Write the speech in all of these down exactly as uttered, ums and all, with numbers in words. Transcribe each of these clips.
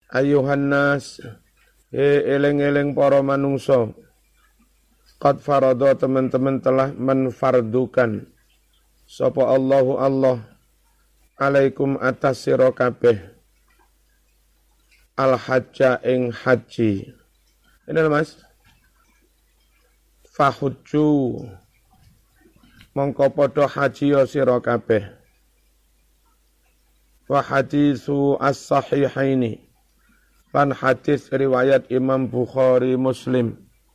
ayuhan nas he eleng-eleng para manungsa qad farada teman-teman telah menfardukan sapa Allahu Allah alaikum atas sira kabeh al hajja ing haji. Ini Mas fahujju mongko padha haji ya sira kabeh wa hadisu as-sahihaini lan hadis riwayat Imam Bukhari Muslim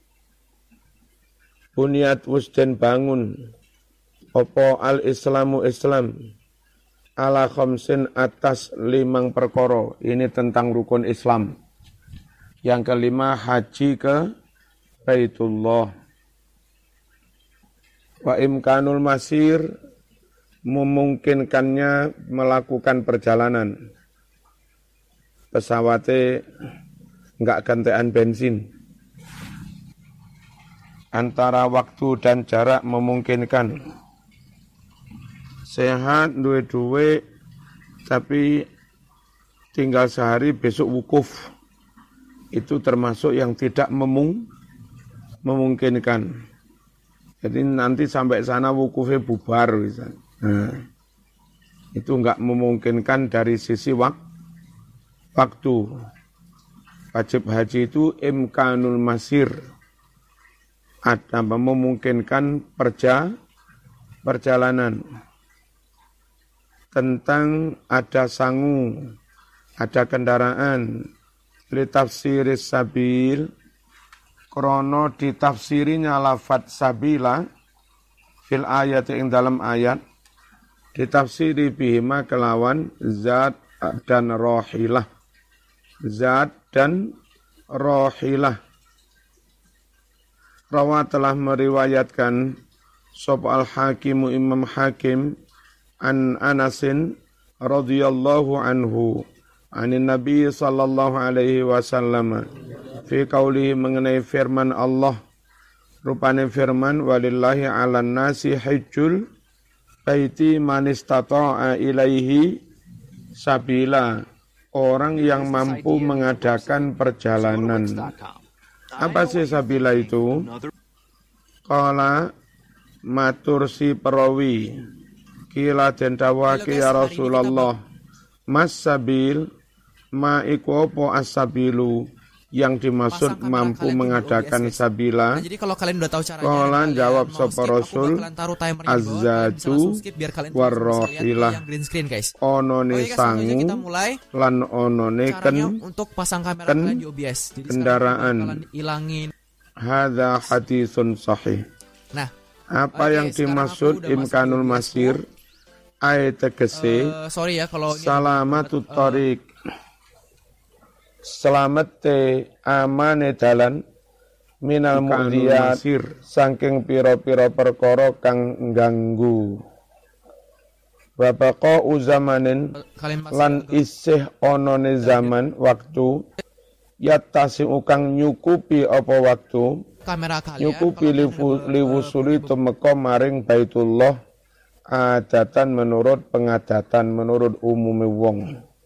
buniat wusden bangun apa al-islamu Islam ala khamsin atas limang perkara. Ini tentang rukun Islam. Yang kelima haji ke Baitullah. Wa imkanul masir memungkinkannya melakukan perjalanan. Pesawatnya enggak gantian bensin. Antara waktu dan jarak memungkinkan. Sehat, duwe-duwe, tapi tinggal sehari besok wukuf. Itu termasuk yang tidak memung, memungkinkan. Jadi nanti sampai sana wukufnya bubar. Nah, itu enggak memungkinkan dari sisi wak, waktu. Wajib haji itu imkanul masir. Ada memungkinkan perja, perjalanan. Tentang ada sangu, ada kendaraan. Litafsiris sabil, krono ditafsirinya lafad sabila, fil ayat yang dalam ayat, ditafsiri bihima kelawan zat dan rohilah. Zat dan rohilah. Rawa telah meriwayatkan sop al-hakimu imam hakim an Anasin radhiyallahu anhu anin Nabi sallallahu alaihi wasallam fi qaulihi mengenai firman Allah rupane firman walillahi 'alan nasi hajjul baiti man istata'a ilaihi sabila orang yang mampu mengadakan perjalanan. Apa sih sabila itu? Qala matur si perawi kila den dawake ya Rasulullah mas sabil ma iku apa as-sabilu yang dimaksud mampu mengadakan sabila. Nah, jadi kalau kalian udah tahu caranya, Kolan jawab sapa Rasul azzatu warrohilah onone sangu lan onone ken untuk pasang kamera ken kalian di O B S. Jadi kendaraan. Ilangin. Hadza hadisun sahih. Nah, apa okay, yang dimaksud imkanul masir ayat tegese uh, sorry ya kalau salamatut tariq selamat te amane dalan minal mu'diyat saking pira-pira perkara kang ngganggu babaqa uzamanin lan isih onone zaman waktu yatasi ukang nyukupi apa waktu kamera kalian nyukupi liwusuli tumeka maring Baitullah adatan menurut pengadatan menurut umume wong.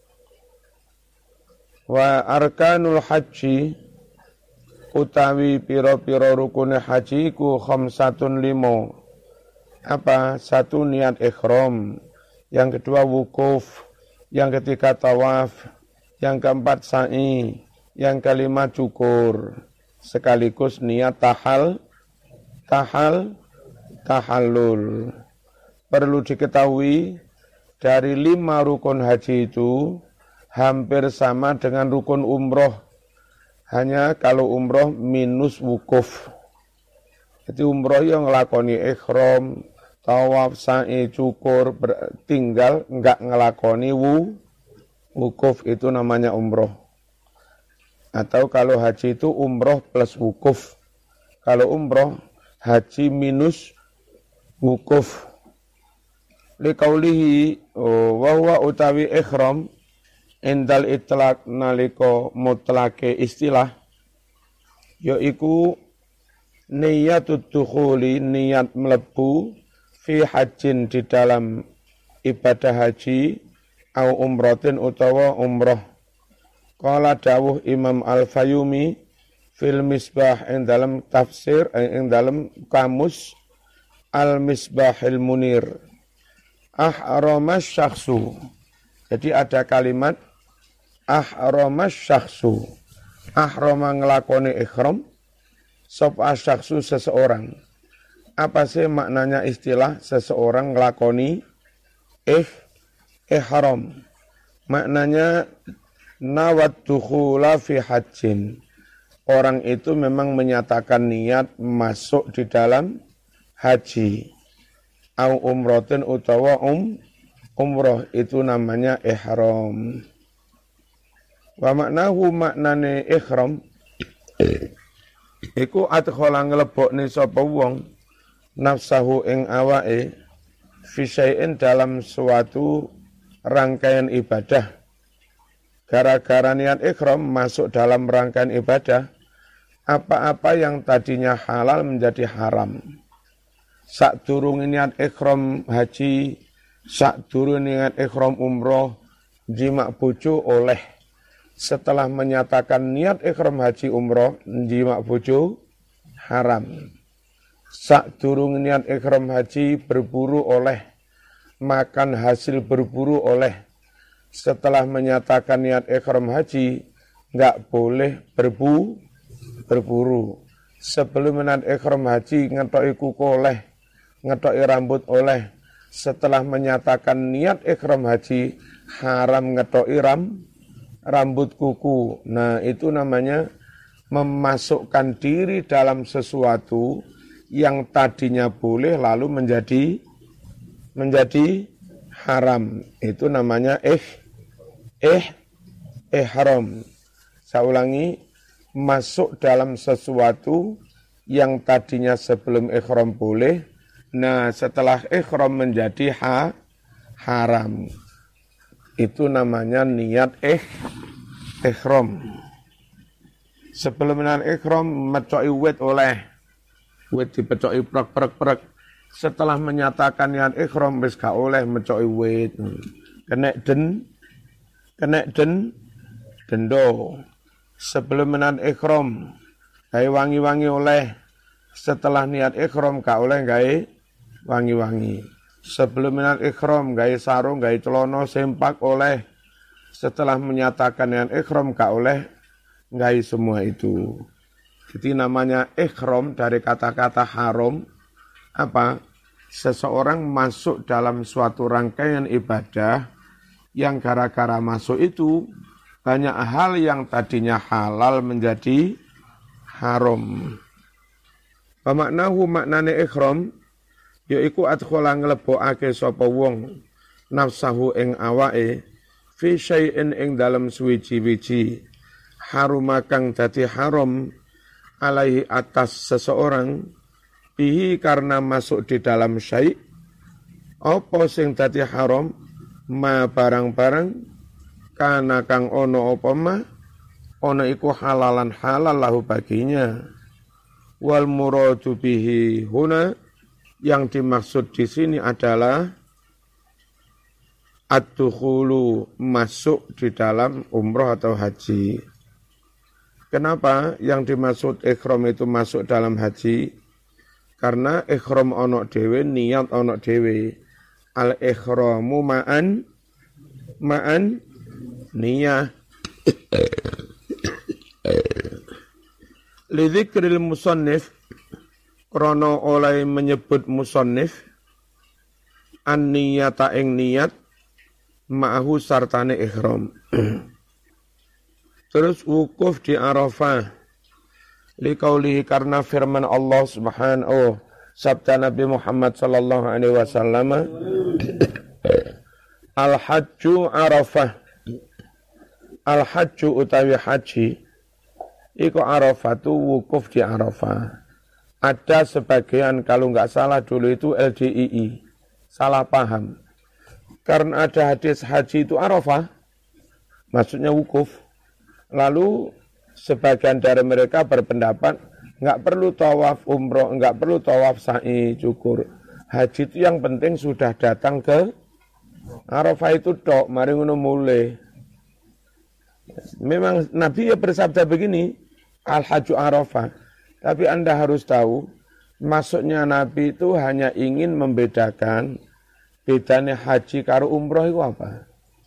Wa arkanul haji utawi pira-pira rukune haji ku khamsatun limo. Apa? Satu niat ihram, yang kedua wukuf, yang ketiga tawaf, yang keempat sa'i, yang kelima cukur, sekaligus niat tahal, tahal, tahallul. Perlu diketahui dari lima rukun haji itu hampir sama dengan rukun umroh. Hanya kalau umroh minus wukuf. Jadi umroh yang ngelakoni ikhram, tawaf, sa'i, cukur, tinggal enggak ngelakoni wu, wukuf itu namanya umroh. Atau kalau haji itu umroh plus wukuf. Kalau umroh haji minus wukuf. Liqaulihi wa huwa utawi ikhram indal itlaq naliko mutlake istilah yaiku niyatut dukhuli niat mlebu fi hajjin di dalam ibadah haji au umratin utawa umrah Qala dawuh Imam Al-Fayumi fil Misbah ing dalam tafsir ing dalam kamus Al-Misbahil Munir. Ahramas syakhsu. Jadi ada kalimat ahramas syakhsu. Ahrama ngelakoni ikhram sapa syakhsu seseorang. Apa sih maknanya istilah seseorang ngelakoni ih ihram? Maknanya nawat dukhula fi hajjin. Orang itu memang menyatakan niat masuk di dalam haji. Au umrotin utawa um umroh itu namanya ihram. Wa maknahu maknane ihram iku adkhala nglebokne sapa wong nafsahu ing awake fi syai'in dalam suatu rangkaian ibadah. Gara-gara niat ihram masuk dalam rangkaian ibadah, apa-apa yang tadinya halal menjadi haram. Sakdurunge niat ihram haji, sakdurunge niat ihram umroh, jima bojo oleh. Setelah menyatakan niat ikhram haji umroh, jima bojo haram. Sakdurunge niat ikhram haji berburu oleh, makan hasil berburu oleh. Setelah menyatakan niat ikhram haji, enggak boleh berbu berburu. Sebelum niat ikhram haji ngetoki kuku oleh, ngetoki rambut oleh. Setelah menyatakan niat ikhram haji, haram ngetoki ram rambut kuku. Nah, itu namanya memasukkan diri dalam sesuatu yang tadinya boleh lalu menjadi menjadi haram. Itu namanya eh eh ihram. Saya ulangi, masuk dalam sesuatu yang tadinya sebelum ihram boleh, nah setelah ihram menjadi ha, haram. Itu namanya niat eh ihram. Sebelum niat ihram mecoki wit oleh, wit dipecoki prek-prek-prek. Setelah menyatakan niat ihram wis gak oleh mecoki wit. Kenek den, kenek den, dendo. Sebelum niat ihram gawe wangi-wangi oleh. Setelah niat ihram gak oleh gawe wangi-wangi. Sebelum niat ikhram gawe sarung, gawe celana sempak oleh. Setelah menyatakan niat ikhram gak oleh gawe semua itu. Jadi namanya ikhram dari kata-kata haram apa? Seseorang masuk dalam suatu rangkaian ibadah yang gara-gara masuk itu banyak hal yang tadinya halal menjadi haram. Pamaknahu maknane ikhram yaiku adkhala nglebokake sapa wong nafsahu ing awake fi syai'in ing dalem suwiji-wiji haruma kang dadi haram alaihi atas seseorang bihi karena masuk di dalam syai' apa sing dadi haram ma barang-barang kana kang ono apa ma ono iku halalan halal lahu baginya wal muradu bihi huna yang dimaksud di sini adalah ad-dukhulu masuk di dalam umroh atau haji. Kenapa yang dimaksud ikhram itu masuk dalam haji? Karena ikhram ono dhewe, niat ono dhewe. Al-ikhramu ma'an ma'an niyah. Lidzikril musannif krana oleh menyebut musannif an-niyata ing niat ma'ahu sartane ihram. Terus wukuf di Arafah liqaulihi karena firman Allah Subhanahu sabda Nabi Muhammad sallallahu alaihi wasallam al-hajju Arafah. Al-hajju utawi haji iku Arafatu wukuf di Arafah. Ada sebagian kalau nggak salah dulu itu L D I I, salah paham. Karena ada hadis haji itu Arafah, maksudnya wukuf. Lalu sebagian dari mereka berpendapat nggak perlu tawaf umroh, nggak perlu tawaf sa'i cukur. Haji itu yang penting sudah datang ke Arafah itu tok, mari ngono mulai. Memang Nabi ya bersabda begini, Al-Hajju Arafah. Tapi Anda harus tahu, maksudnya Nabi itu hanya ingin membedakan bedanya haji karo umroh itu apa.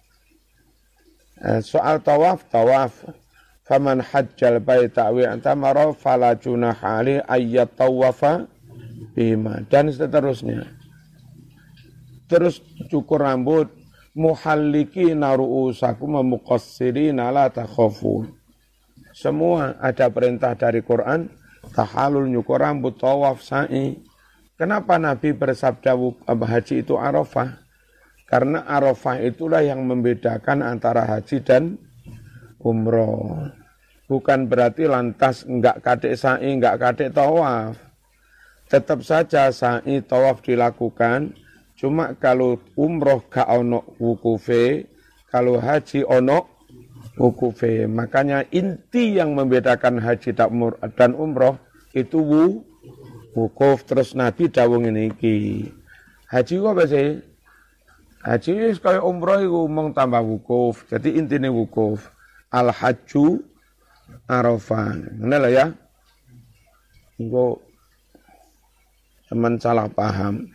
Soal tawaf, tawaf. Faman hajjal baita wa i'tamara fala junaha alaihi ayyat tawafa bima. Dan seterusnya. Terus cukur rambut, muhallikina ru'usakum wa muqassirina la takhafun. Semua ada perintah dari Quran, tahalul, nyukur rambut, tawaf, sa'i. Kenapa Nabi bersabda haji itu Arafah? Karena Arafah itulah yang membedakan antara haji dan umroh. Bukan berarti lantas enggak kadek sa'i, enggak kadek tawaf. Tetap saja sa'i tawaf dilakukan. Cuma kalau umroh gak ono wukufe, kalau haji ono wukufe. Makanya inti yang membedakan haji dan umroh itu wu, wukuf. Terus Nabi dawuh ngene iki. Haji ku apa sih? Haji wis kaya umroh iku mung tambah wukuf. Jadi intine wukuf. Al-hajju Arafah. Ngene lho ya. Engko sampean salah paham.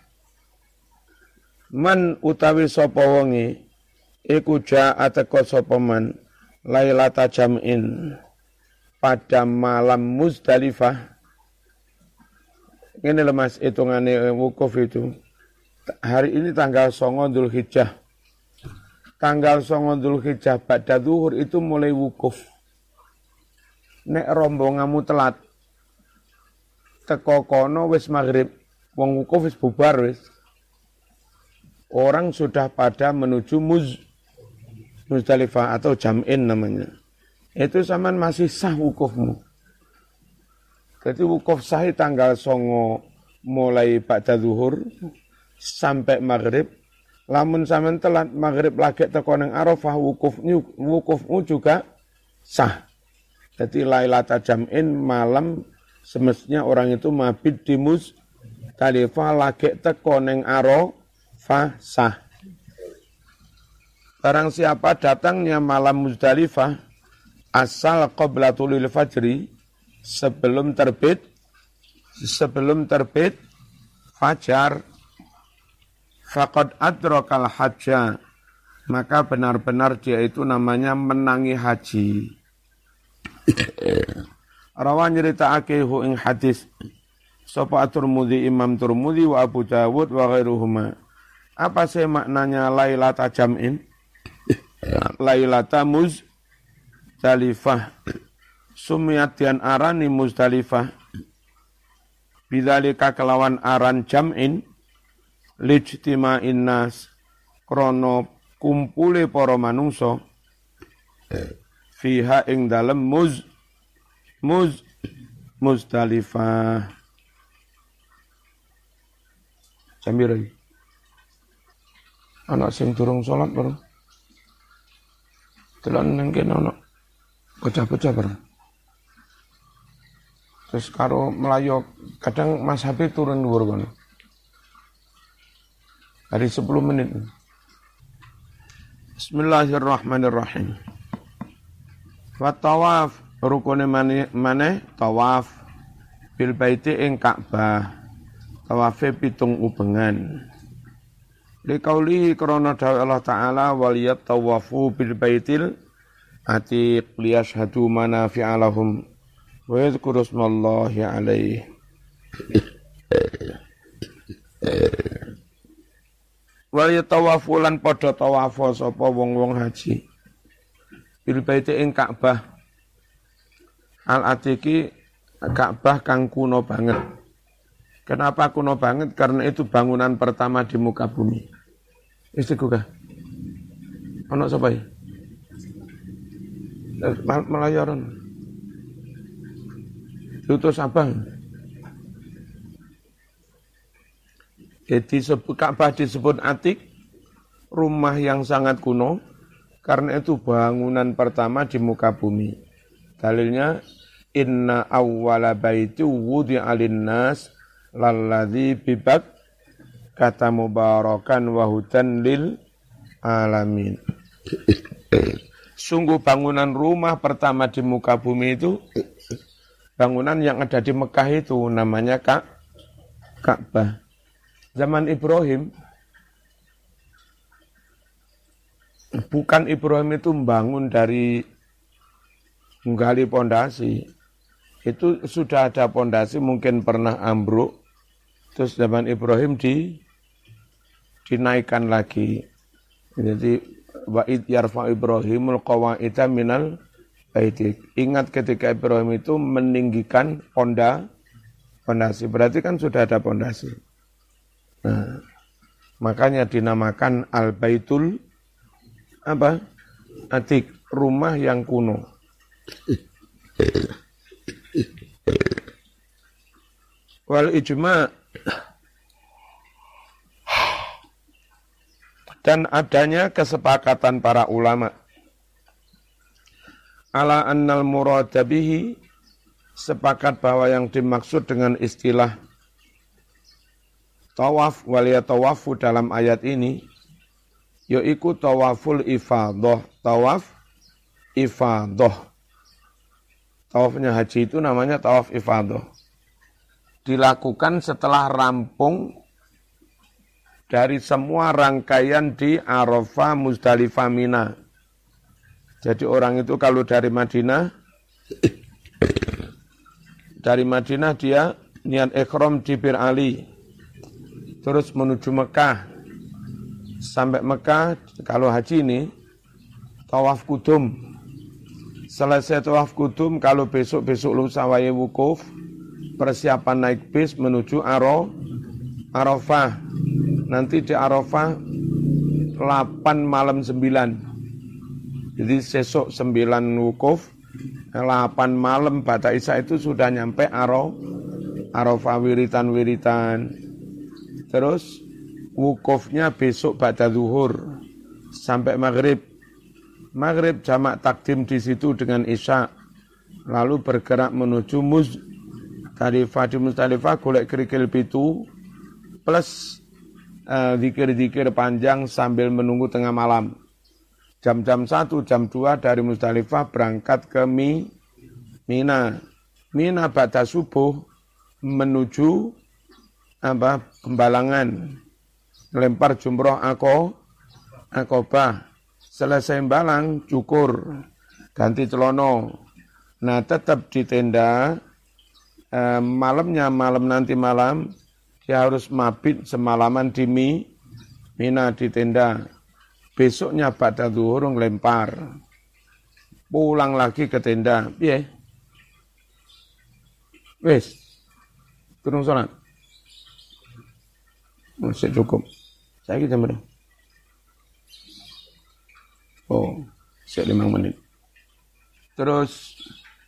Man utawi sapa wonge iku ja'a teka sapa man lailata jam'in pada malam Muzdalifah. Ngene lho Mas, hitungane wukuf itu. Hari ini tanggal songo Dzulhijjah. Tanggal songo Dzulhijjah pada zuhur itu mulai wukuf. Nek rombonganmu telat teko kono wis maghrib, wong wukuf wis bubar wis. Orang sudah pada menuju Muz, Muzdalifah atau Jam'in namanya. Itu zaman masih sah wukufmu. Jadi wukuf sah tanggal songo mulai pada zuhur sampai maghrib. Lamun sampean telat maghrib lagi teko nang Arafah, wukufmu wukufmu juga sah. Jadi Lailatul Jam'in malam semestinya orang itu mabit di Muzdalifah lagi teko nang Arafah sah. Barang siapa datangnya malam Muzdalifah asal qoblatul fajri sebelum terbit sebelum terbit fajar, faqad adrakal hajja, maka benar-benar dia itu namanya menangi haji. Rawan nyeritakake hu ing hadis sapa At-Tirmidzi, Imam Tirmidzi wa Abu Dawud wa ghairuhuma. Apa sih maknanya Lailatul Jam'in? Lailatul Muzdalifah. Sumiyat dian arani Muzdalifah. Bidzalika kelawan aran jam'in lijtima'in nas krana kumpule para manungsa fiha ing dalem muz muz Muzdalifah. Jambir iki. Anak sing durung salat baru. Telan nang kene ana bocah-bocah baru. Terus karo Melayu kadang Mas Habib turun dhuwur kono. Hari sepuluh menit. Bismillahirrahmanirrahim. Wa tawaf rukune maneh tawaf bil baiti ing Ka'bah. Tawafe pitung ubengan. Liqauli krana dawuh Allah Ta'ala waliyat tawafu bil baitil atiq liyashhadu manafi'a lahum wa yadhkuru ismallahi alaihi. Waliyat tawafu lan padha tawafo sapa wong-wong haji bil baiti ing Ka'bah. Al atiqi Ka'bah kang kuno banget. Kenapa kuno banget? Karena itu bangunan pertama di muka bumi. Istiku kah? Ono sapa iki? Melayaran. Diutus abang. Jadi Ka'bah disebut atik, rumah yang sangat kuno, karena itu bangunan pertama di muka bumi. Dalilnya, inna awwala baiti wudi'a linnas lalladzi bibak kata mubarakan wa hudan lil alamin. Sungguh bangunan rumah pertama di muka bumi itu, bangunan yang ada di Mekah itu namanya Ka Ka'bah. Zaman Ibrahim, bukan Ibrahim itu membangun dari menggali pondasi. Itu sudah ada pondasi, mungkin pernah ambruk. Terus zaman Ibrahim di dinaikkan lagi. Jadi wa id yarfa Ibrahimul qawaida minal baiti. Ingat ketika Ibrahim itu meninggikan ponda pondasi, berarti kan sudah ada pondasi. Nah, makanya dinamakan Al-Baitul apa? Atik, rumah yang kuno. Wal ijma' dan adanya kesepakatan para ulama ala annal murada bihi, sepakat bahwa yang dimaksud dengan istilah tawaf wal yatawafu dalam ayat ini yaitu tawaful ifadah, tawaf ifadah. Tawafnya haji itu namanya tawaf ifadah. Dilakukan setelah rampung dari semua rangkaian di Arafah, Muzdalifah, Mina. Jadi orang itu kalau dari Madinah, dari Madinah dia niat ikhram di Bir Ali, terus menuju Mekah. Sampai Mekah, kalau haji ini, tawaf kudum. Selesai tawaf kudum, kalau besok-besok lusa wae wukuf, persiapan naik bis menuju Aro, Arafah. Nanti di Arafah delapan malam sembilan. Jadi sesok sembilan wukuf, delapan malam pada Isya itu sudah nyampe Aro, Arafah wiritan-wiritan. Terus wukufnya besok pada zuhur sampai maghrib. Maghrib jamak takdim di situ dengan Isya. Lalu bergerak menuju Muzdalifah. Di Muzdalifah golek kerikil pitu plus Uh, zikir-zikir panjang sambil menunggu tengah malam. Jam-jam satu, jam dua dari Muzdalifah berangkat ke Mi, Mina. Mina ba'da subuh menuju apa Kembalangan. Lempar jumroh ako, akobah. Selesai balang, cukur, ganti celono. Nah tetap di tenda, uh, malamnya, malam nanti malam, dia harus mabit semalaman di Mi, Mina di tenda. Besoknya pada zuhur ngelempar. Pulang lagi ke tenda. Piye? Wes. Turun salat. Masih cukup. Saya kita berapa? Oh, saya lima menit. Terus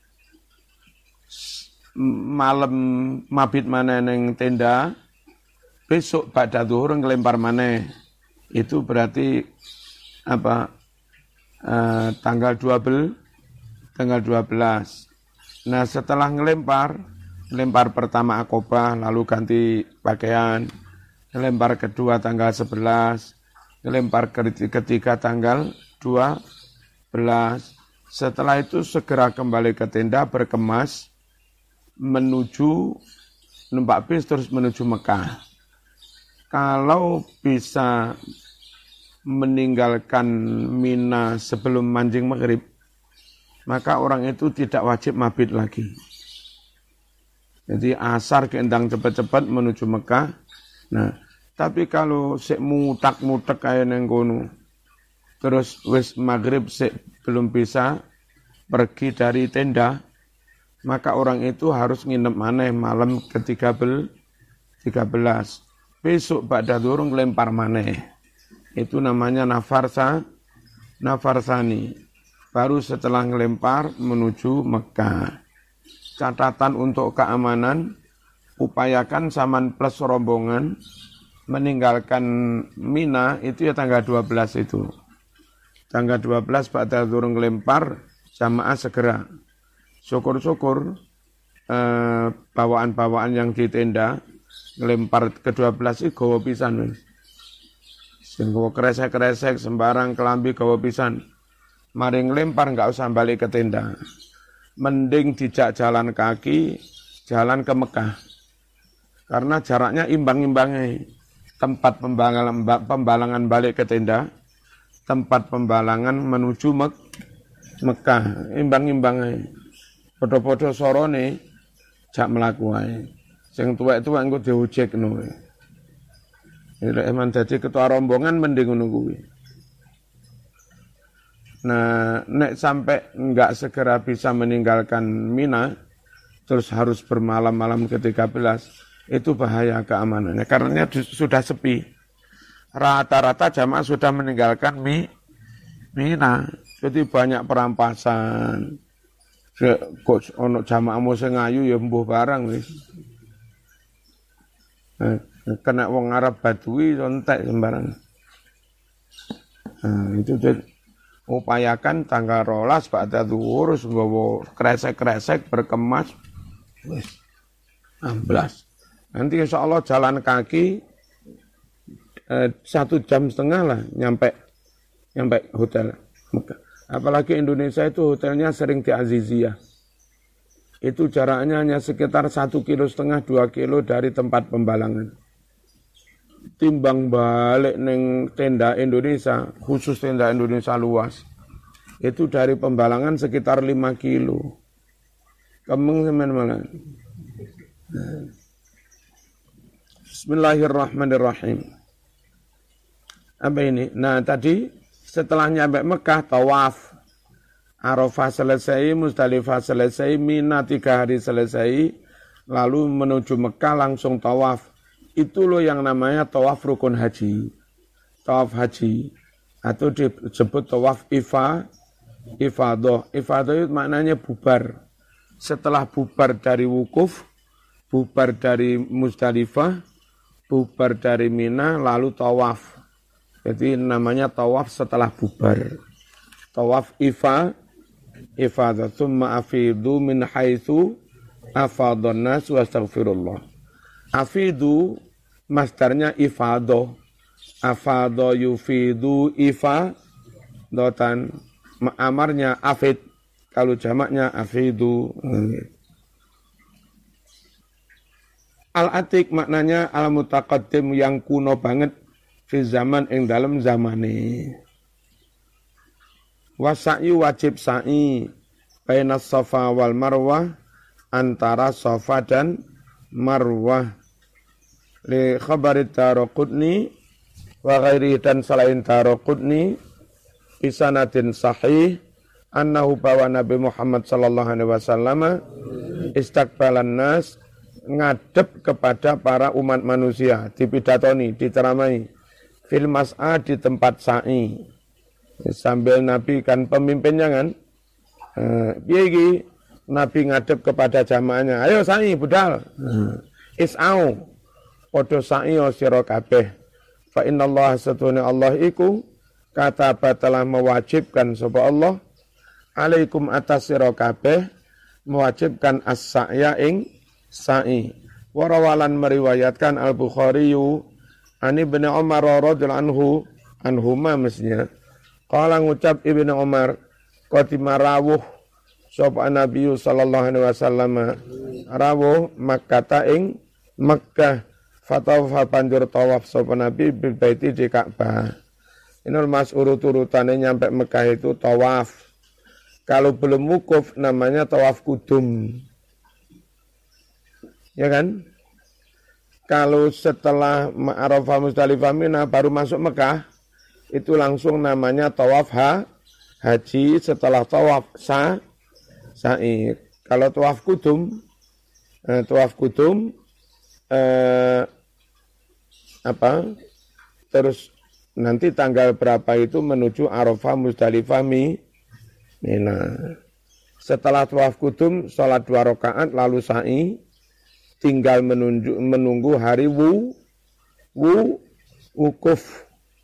malam mabit mana neng tenda, besok pada zuhur ngelempar maneh. Itu berarti apa? Uh, tanggal dua belas, tanggal dua belas. Nah, setelah ngelempar, lempar pertama akobah, lalu ganti pakaian. Ngelempar kedua tanggal sebelas, ngelempar ketiga tanggal dua belas. Setelah itu segera kembali ke tenda berkemas menuju numpak bis terus menuju Mekah. Kalau bisa meninggalkan Mina sebelum mancing maghrib, maka orang itu tidak wajib mabit lagi. Jadi asar keendang cepat-cepat menuju Mekah. Nah, tapi kalau sik mutak-mutak kayak neng kono, terus wis maghrib sik belum bisa pergi dari tenda, maka orang itu harus nginep maneh malam ke tiga belas. Besok pada durung lempar maneh. Itu namanya nafarsa, nafarsani. Baru setelah ngelempar menuju Mekah. Catatan untuk keamanan, upayakan saman plus rombongan meninggalkan Mina itu ya tanggal dua belas itu. Tanggal dua belas pada durung ngelempar, jamaah segera. Syukur-syukur eh, bawaan-bawaan yang di tenda ngelempar ke dua belas itu gawa pisan. Sing gawa kresek-kresek sembarang kelambi gawa pisan. maring lempar nggak usah balik ke tenda. Mending dijak jalan kaki, jalan ke Mekah. Karena jaraknya imbang-imbangnya. Tempat pembalangan, pembalangan balik ke tenda, tempat pembalangan menuju Mek Mekah, imbang-imbangnya. Podo-podo sorone, jak melaku ae. Sing tuwek-tuwek engko diujekno. Nek emang dadi ketua rombongan mending ngono kuwi. Nah, nek sampai enggak segera bisa meninggalkan Mina, terus harus bermalam-malam ke tiga belas, itu bahaya keamanannya. Karena sudah sepi. Rata-rata jamaah sudah meninggalkan Mi, Mina. Jadi banyak perampasan. Kok ono jamaahmu sing ayu ya mbuh barang wis. Nah, kena wong Arab Badui entek sembarang. Nah, itu jadi upayakan tanggal rolas pada zuhur nggawa kresek-kresek berkemas wis amblas. Nanti insya Allah jalan kaki eh, satu jam setengah lah nyampe nyampe hotel Mekah. Apalagi Indonesia itu hotelnya sering di Aziziyah. Itu jaraknya hanya sekitar satu kilo setengah dua kilo dari tempat pembalangan. Timbang balik neng tenda Indonesia, khusus tenda Indonesia luas, itu dari pembalangan sekitar lima kilo. Kemeng teman-teman. Bismillahirrahmanirrahim. Apa ini? Nah tadi setelah nyampe Mekah, tawaf. Arafah selesai, Musdalifah selesai, Mina tiga hari selesai, lalu menuju Mekah langsung tawaf. Itu loh yang namanya tawaf rukun haji. Tawaf haji. Atau disebut tawaf ifa, ifadah. Ifadah itu maknanya bubar. Setelah bubar dari wukuf, bubar dari Musdalifah, bubar dari Mina, lalu tawaf. Jadi namanya tawaf setelah bubar. Tawaf ifa, ifadah. Thumma afidu min haitsu afadhan nas wa astaghfirullah. Afidu masdarnya ifado. Afado yufidu ifa dotan. Amarnya afid. Kalau jamaknya afidu. Al-atik maknanya al-mutaqaddim yang kuno banget fi zaman ing dalam zamane. Wasa'yu wajib sa'i baina Safa wal Marwah, antara Safa dan Marwah. Li khabarit Daraqutni wa ghairi, dan selain Daraqutni bisanadin sahih annahu bawa Nabi Muhammad sallallahu alaihi wasallam istaqbalan nas, ngadep kepada para umat manusia, dipidatoni, diceramai fil mas'a, di tempat sa'i. Sambil Nabi kan pemimpinnya kan, eh, piye iki? Nabi ngadep kepada jamaahnya, ayo sa'i budal. Is'au, podo sa'i o sira kabeh. Fa innallaha satuna Allah iku kataba telah mewajibkan sapa Allah alaikum atas sira kabeh, mewajibkan as-sa'ya ing sa'i. Warawalan meriwayatkan Al-Bukhari Ani bin Umar radhiyallahu anhu anhuma mestinya. Qala ngucap Ibnu Umar, qatima rawuh sapa Nabi sallallahu alaihi wasallam rawuh Makkah ing Makkah, fatawafa banjur tawaf sapa Nabi bil baiti di Ka'bah. Inul mas urut-urutane nyampe Mekah itu tawaf. Kalau belum wukuf namanya tawaf kudum. Ya kan? Kalau setelah Arafah Musdalifah Mina baru masuk Mekah, itu langsung namanya tawaf ha, haji. Setelah tawaf sa, sa'i. Kalau tawaf kudum, eh, tawaf kudum, eh, apa? Terus nanti tanggal berapa itu menuju Arafah Musdalifah Mina. Setelah tawaf kudum, sholat dua rakaat lalu sa'i. Tinggal menunjuk, menunggu hari wu, wu, wukuf.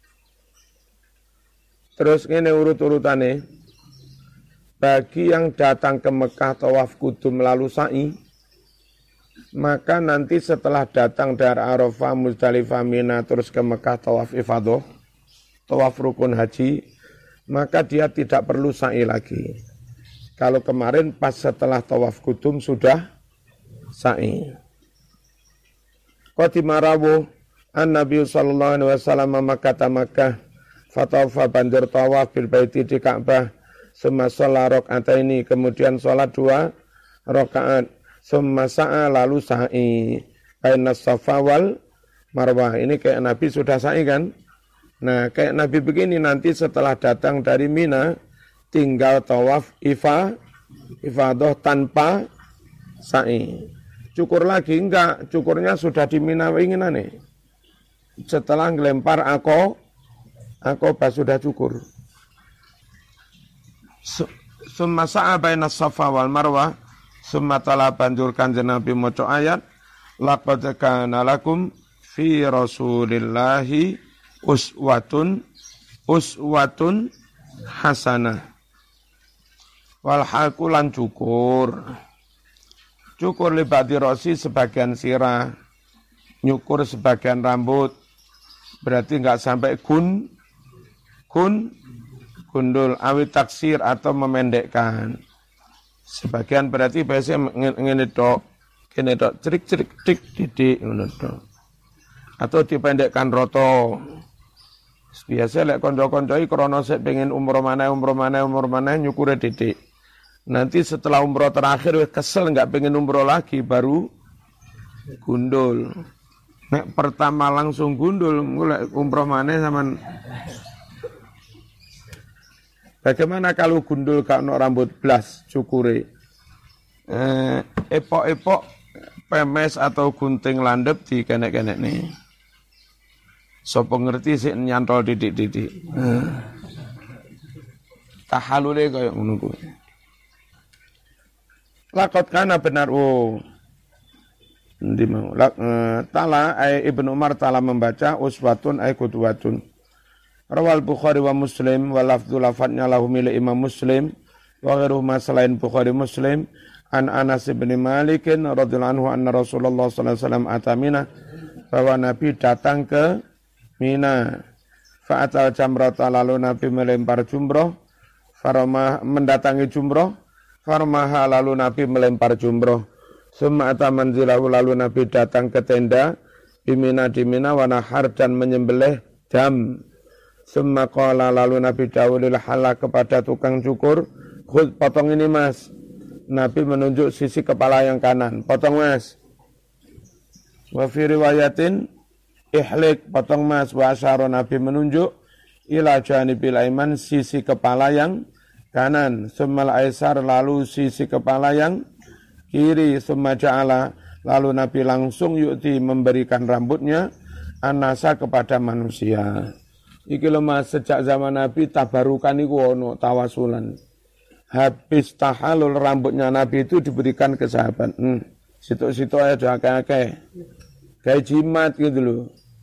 Terus ini urut-urutannya. Bagi yang datang ke Mekah tawaf kudum lalu sa'i, maka nanti setelah datang dari Arafah, Musdalifah, Mina, terus ke Mekah tawaf ifadah, tawaf rukun haji, maka dia tidak perlu sa'i lagi. Kalau kemarin pas setelah tawaf kudum sudah sa'i. Qatima rawuh an-Nabi sallallahu alaihi wasallam Makkah Makkah fatawafa banjur tawaf bil baiti di Ka'bah summa shalla raka'ataini kemudian salat dua rakaat summa sa'a lalu sa'i baina Safa wal Marwah. Ini kayak Nabi sudah sa'i kan? Nah, kayak Nabi begini nanti setelah datang dari Mina tinggal tawaf ifa ifadah tanpa sa'i. Cukur lagi enggak, cukurnya sudah di Mina winginane. Setelah ngelempar ako akobah sudah cukur. Summa sa'a baina Safa wal Marwah summa tala banjur Kanjeng Nabi maca ayat laqad kana lakum fi Rasulillahi uswatun uswatun hasanah. Wal hakulan cukur. Cukur libati rosi sebagian sirah, nyukur sebagian rambut. Berarti enggak sampai gun gun gundul awit taksir atau memendekkan. Sebagian berarti biasanya ngene tok, ngene tok cerik-cerik dik didik ngono tok. Atau dipendekkan roto. Biasa lek kanca-kanca iki krana sik pengen umroh maneh umroh maneh umroh maneh nyukure didik. Nanti setelah umroh terakhir wis kesel enggak pengen umroh lagi baru gundul. Nek pertama langsung gundul lek umroh maneh sampean. Bagaimana kalau gundul gak ono rambut blas cukure? Eh, epok-epok pemes atau gunting landep di kenek-kenek nih. Sopo ngerti sih nyantol didik-didik. Eh. Tahalule kaya ngono kuwi. Laqad kana benar oh. Ndi mau? Uh, tala ay Ibnu Umar tala membaca uswatun ay qudwatun. Rawal Bukhari wa Muslim wa lafdzu lafadznya lahu milik Imam Muslim wa ghairuhuma selain Bukhari Muslim an Anas bin Malik radhiyallahu anhu anna Rasulullah sallallahu alaihi wasallam atamina bahwa Nabi datang ke Mina. Fa'atal jamrata lalu Nabi melempar jumroh. Faromah mendatangi jumroh. Farmaha lalu Nabi melempar jumroh. Summa ata manzilahu lalu Nabi datang ke tenda di Mina di Mina wa nahar dan menyembelih jam. Summa qala lalu Nabi dawulil hala kepada tukang cukur, khud potong ini mas. Nabi menunjuk sisi kepala yang kanan, potong mas. Wa fi riwayatin ihlik potong mas wa asyara Nabi menunjuk ila janibil aiman sisi kepala yang kanan, summal aisar lalu sisi kepala yang kiri, summa ja'ala lalu Nabi langsung yu'ti memberikan rambutnya anasa kepada manusia. Iki lho mas sejak zaman Nabi tabarukan iku ono tawasulan. Habis tahalul rambutnya Nabi itu diberikan ke sahabat. Hmm, situ-situ aja akeh-akeh. Kayak jimat gitu loh.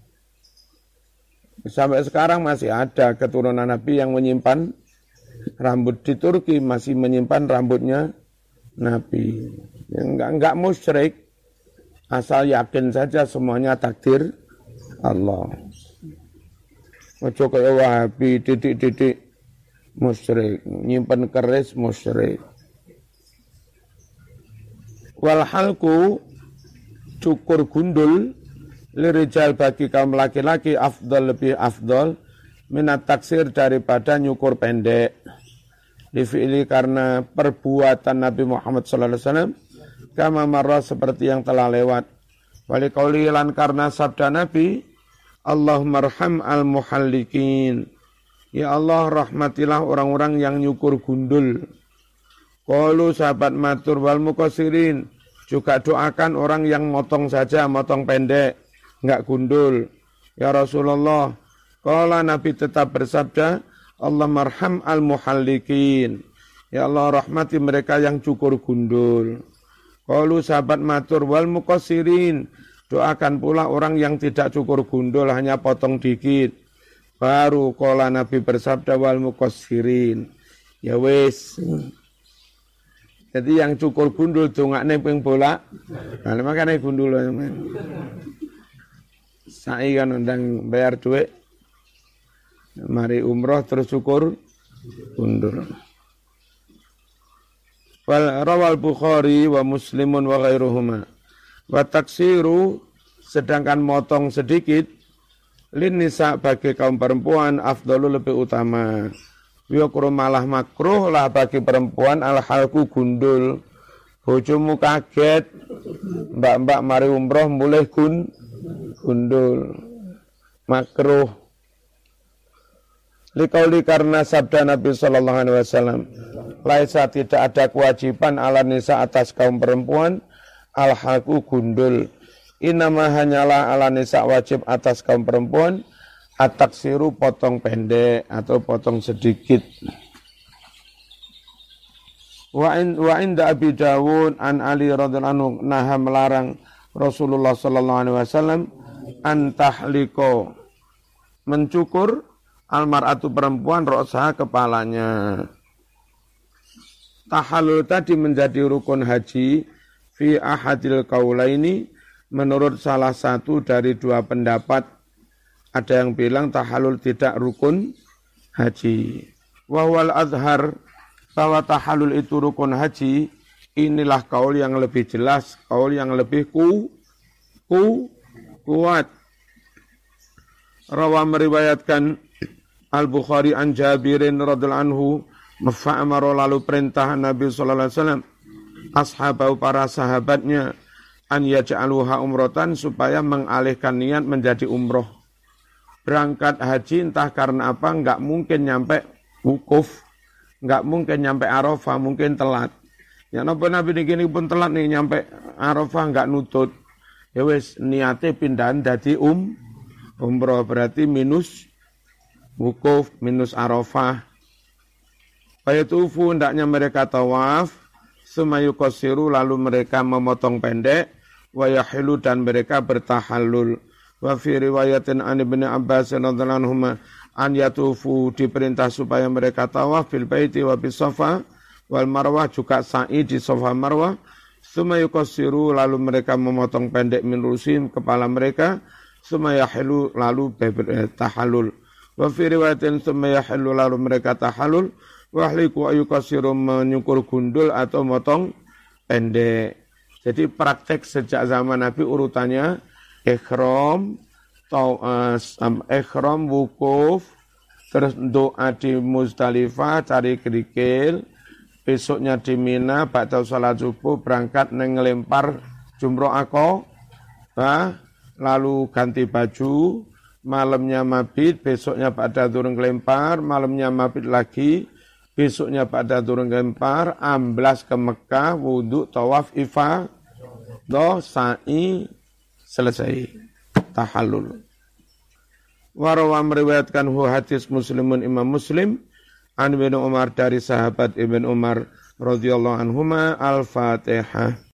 Sampai sekarang masih ada keturunan Nabi yang menyimpan rambut di Turki, masih menyimpan rambutnya Nabi. Enggak enggak musyrik, asal yakin saja semuanya takdir Allah. Ojo kaya Wahabi titik-titik musyrik, nyimpan keris musyrik. Wal halku cukur gundul lirijal bagi kaum laki-laki afdal lebih afdal minat taksir daripada nyukur pendek. Difi'ili karena perbuatan Nabi Muhammad sallallahu alaihi wasallam kama marra seperti yang telah lewat. Wali qauli lan karena sabda Nabi Allahumma arham al-muhallikin. Ya Allah rahmatilah orang-orang yang nyukur gundul. Qalu sahabat matur wal muqassirin. Juga doakan orang yang motong saja, motong pendek, enggak gundul. Ya Rasulullah, qala Nabi tetap bersabda, Allahumma arham al-muhallikin. Ya Allah rahmati mereka yang cukur gundul. Qalu sahabat matur wal muqassirin. Doakan pula orang yang tidak cukur gundul, hanya potong dikit. Baru qala Nabi bersabda wal muqassirin. Ya wis. Jadi yang cukur gundul dongakne ping bolak. Nah, makane gundul. Saiki kan undang bayar duit. Mari umroh terus cukur gundul. Wal rawal Bukhari wa Muslimun wa ghairuhuma. Wa taksiru sedangkan motong sedikit lin nisa bagi kaum perempuan afdalu lebih utama. Wa malah makruh lah bagi perempuan al halku gundul. Bojomu kaget mbak-mbak mari umroh mulai gun gundul. Makruh. Likauli karena sabda Nabi sallallahu alaihi wasallam, laisa tidak ada kewajiban ala nisa atas kaum perempuan al-halku gundul. Inama hanyalah ala nisa wajib atas kaum perempuan at-taksiru potong pendek atau potong sedikit. Wa in wa inda Abi Dawud an Ali radhiyallahu anhu naha melarang Rasulullah sallallahu alaihi wasallam an tahliko mencukur almar'atu perempuan ra'saha kepalanya. Tahallul tadi menjadi rukun haji fi ahadil qaulaini menurut salah satu dari dua pendapat. Ada yang bilang tahallul tidak rukun haji. Wa wal azhar bahwa tahallul itu rukun haji, inilah kaul yang lebih jelas, kaul yang lebih ku, ku kuat. Rawa meriwayatkan Al-Bukhari an Jabirin radhiyallahu anhu mafa'amara lalu perintah Nabi sallallahu alaihi wasallam ashabahu para sahabatnya an yaj'aluha umratan supaya mengalihkan niat menjadi umroh. Berangkat haji entah karena apa enggak mungkin nyampe wukuf, enggak mungkin nyampe Arafah, mungkin telat. Ya napa Nabi niki pun telat nih nyampe Arafah enggak nutut. Ya wis niate pindahan dadi um umroh berarti minus wukuf minus Arafah. Fayatufu hendaknya mereka tawaf, sumayukosiru lalu mereka memotong pendek, wayahilu dan mereka bertahallul. Wa fi riwayatin an Ibnu Abbas radhiyallahu anhuma an yatufu diperintah supaya mereka tawaf fil baiti wa bis Safa wal Marwah juga sa'i di Safa Marwah. Sumayukosiru lalu mereka memotong pendek min rusim kepala mereka, sumayahilu lalu bertahallul. Wa fi riwayatin summa yahillu lalu mereka tahallul wa ahliku ayukasiru menyukur gundul atau motong pendek. Jadi praktek sejak zaman Nabi urutannya ihram, ihram wukuf, terus doa di Muzdalifah cari kerikil, besoknya di Mina ba'da salat subuh berangkat ngelempar jumroh Aqabah, lalu ganti baju, malamnya mabit, besoknya pada turun kelempar, malamnya mabit lagi, besoknya pada turun kelempar, amblas ke Mekah, wudhu, tawaf, ifa, doh, sa'i, selesai, tahallul. Warawa meriwayatkan hu hadis Muslimun Imam Muslim, an Ibnu Umar dari sahabat Ibnu Umar radhiyallahu anhuma al-Fatihah.